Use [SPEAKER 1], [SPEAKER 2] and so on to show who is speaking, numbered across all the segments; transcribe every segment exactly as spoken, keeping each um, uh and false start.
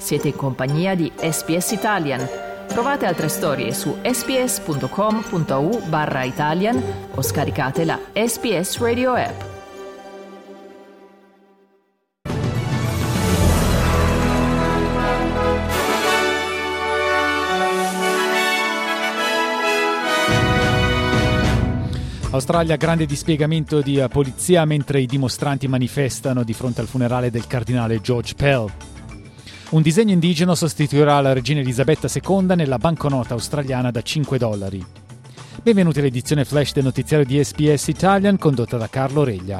[SPEAKER 1] Siete in compagnia di S B S Italian. Trovate altre storie su sbs.com.au barra Italian o scaricate la S B S Radio app.
[SPEAKER 2] Australia, grande dispiegamento di polizia mentre i dimostranti manifestano di fronte al funerale del cardinale George Pell. Un disegno indigeno sostituirà la regina Elisabetta seconda nella banconota australiana da cinque dollari. Benvenuti all'edizione flash del notiziario di S B S Italian condotta da Carlo Reglia.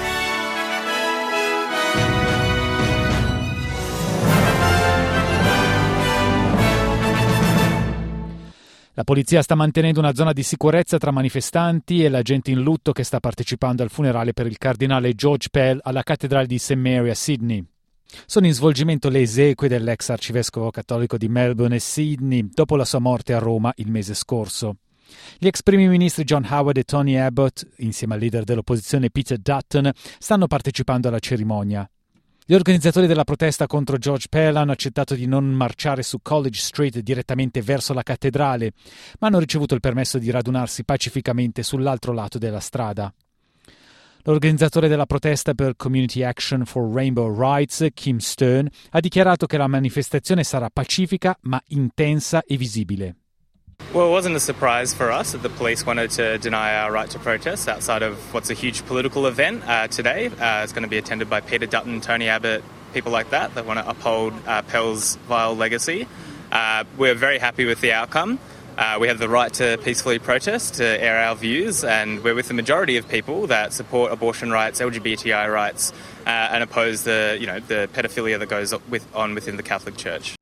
[SPEAKER 2] La polizia sta mantenendo una zona di sicurezza tra manifestanti e la gente in lutto che sta partecipando al funerale per il cardinale George Pell alla cattedrale di Saint Mary a Sydney. Sono in svolgimento le esequie dell'ex arcivescovo cattolico di Melbourne e Sydney dopo la sua morte a Roma il mese scorso. Gli ex primi ministri John Howard e Tony Abbott, insieme al leader dell'opposizione Peter Dutton, stanno partecipando alla cerimonia. Gli organizzatori della protesta contro George Pell hanno accettato di non marciare su College Street direttamente verso la cattedrale, ma hanno ricevuto il permesso di radunarsi pacificamente sull'altro lato della strada. L'organizzatore della protesta per Community Action for Rainbow Rights, Kim Stern, ha dichiarato che la manifestazione sarà pacifica ma intensa e visibile.
[SPEAKER 3] Well, it wasn't a surprise for us that the police wanted to deny our right to protest outside of what's a huge political event uh, today. Uh, it's going to be attended by Peter Dutton, Tony Abbott, people like that that want to uphold uh, Pell's vile legacy. Uh, we're very happy with the outcome. Uh, we have the right to peacefully protest, to air our views, and we're with the majority of people that support abortion rights, L G B T I rights, uh, and oppose the, you know, the pedophilia that goes with, on within the Catholic Church.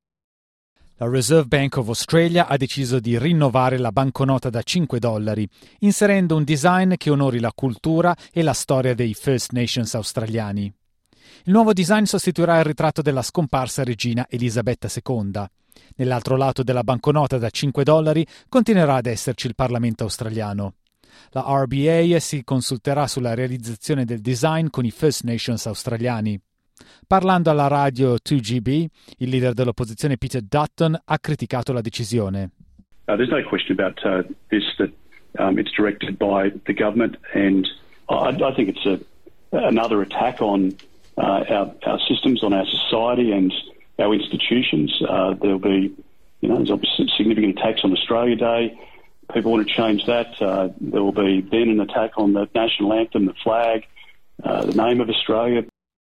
[SPEAKER 2] La Reserve Bank of Australia ha deciso di rinnovare la banconota da cinque dollari, inserendo un design che onori la cultura e la storia dei First Nations australiani. Il nuovo design sostituirà il ritratto della scomparsa regina Elisabetta seconda. Nell'altro lato della banconota da cinque dollari continuerà ad esserci il Parlamento australiano. La R B A si consulterà sulla realizzazione del design con i First Nations australiani. Parlando alla radio due G B, il leader dell'opposizione Peter Dutton ha criticato la decisione.
[SPEAKER 4] Uh, there's no question about uh, this, that um, it's directed by the government, and I, I think it's a, another attack on uh, our, our systems, on our society and our institutions. Uh, there'll be, you know, there's obviously significant attacks on Australia Day. People want to change that. Uh, there will be then an attack on the national anthem, the flag, uh, the name of Australia.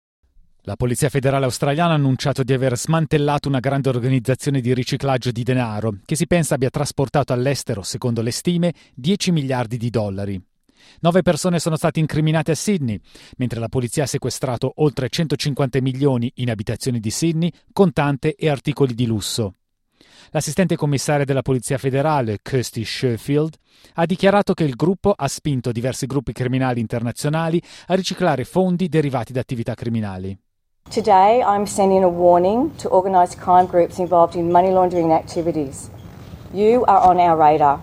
[SPEAKER 2] La Polizia Federale Australiana ha annunciato di aver smantellato una grande organizzazione di riciclaggio di denaro che si pensa abbia trasportato all'estero, secondo le stime, dieci miliardi di dollari. Nove persone sono state incriminate a Sydney, mentre la polizia ha sequestrato oltre centocinquanta milioni in abitazioni di Sydney, contante e articoli di lusso. L'assistente commissaria della Polizia Federale, Kirsty Sherfield, ha dichiarato che il gruppo ha spinto diversi gruppi criminali internazionali a riciclare fondi derivati da attività criminali.
[SPEAKER 5] Today, I'm sending a warning to organised crime groups involved in money laundering activities. You are on our radar.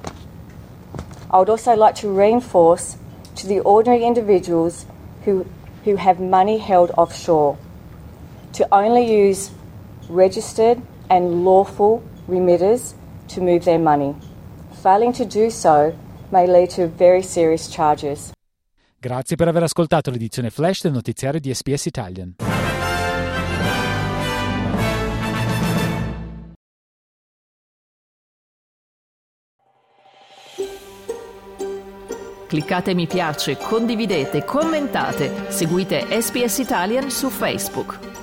[SPEAKER 5] I would also like to reinforce to the ordinary individuals who, who have money held offshore to only use registered and lawful remitters to move their money. Failing to do so may lead to very serious charges.
[SPEAKER 2] Grazie per aver ascoltato l'edizione flash del notiziario di S B S Italian.
[SPEAKER 1] Cliccate mi piace, condividete, commentate, seguite S B S Italian su Facebook.